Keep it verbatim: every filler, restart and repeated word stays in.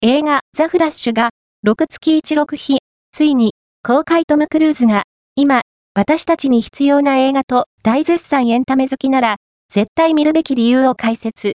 映画ザ・フラッシュがろくがついちろく日、ついに公開。トム・クルーズが今私たちに必要な映画と大絶賛。エンタメ好きなら絶対見るべき理由を解説。